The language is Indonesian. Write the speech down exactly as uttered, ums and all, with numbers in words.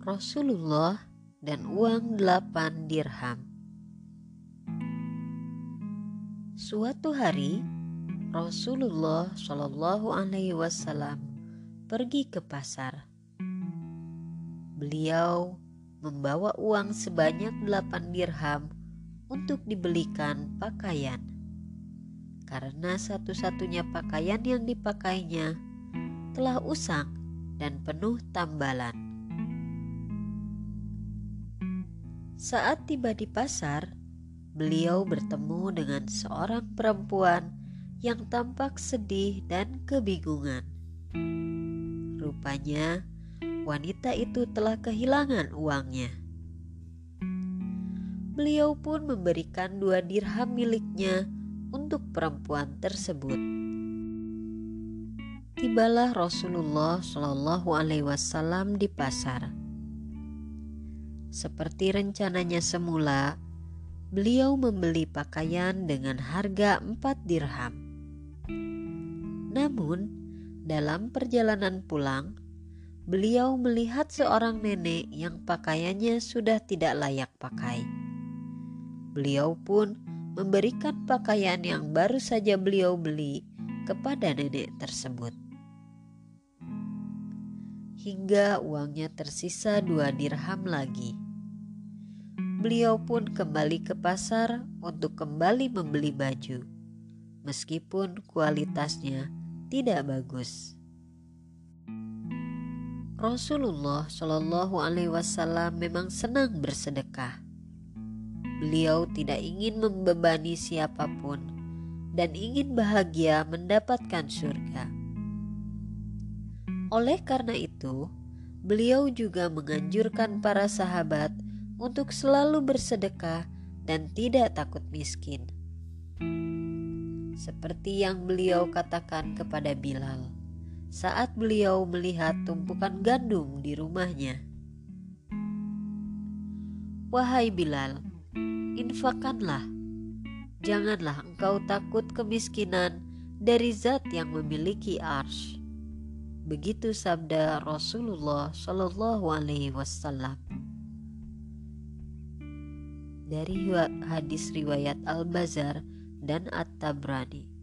Rasulullah dan uang delapan dirham. Suatu hari Rasulullah Shallallahu Alaihi Wasallam pergi ke pasar. Beliau membawa uang sebanyak delapan dirham untuk dibelikan pakaian, karena satu-satunya pakaian yang dipakainya telah usang dan penuh tambalan. Saat tiba di pasar, beliau bertemu dengan seorang perempuan yang tampak sedih dan kebingungan. Rupanya, wanita itu telah kehilangan uangnya. Beliau pun memberikan dua dirham miliknya untuk perempuan tersebut. Tibalah Rasulullah Shallallahu Alaihi Wasallam di pasar. Seperti rencananya semula, beliau membeli pakaian dengan harga empat dirham. Namun, dalam perjalanan pulang, beliau melihat seorang nenek yang pakaiannya sudah tidak layak pakai. Beliau pun memberikan pakaian yang baru saja beliau beli kepada nenek tersebut, hingga uangnya tersisa dua dirham lagi. Beliau pun kembali ke pasar untuk kembali membeli baju, meskipun kualitasnya tidak bagus. Rasulullah Shallallahu Alaihi Wasallam memang senang bersedekah. Beliau tidak ingin membebani siapapun dan ingin bahagia mendapatkan surga. Oleh karena itu, beliau juga menganjurkan para sahabat untuk selalu bersedekah dan tidak takut miskin. Seperti yang beliau katakan kepada Bilal saat beliau melihat tumpukan gandum di rumahnya. Wahai Bilal, infakkanlah. Janganlah engkau takut kemiskinan dari zat yang memiliki arsy. Begitu sabda Rasulullah Shallallahu Alaihi Wasallam. Dari hadis riwayat Al-Bazzar dan At-Tabrani.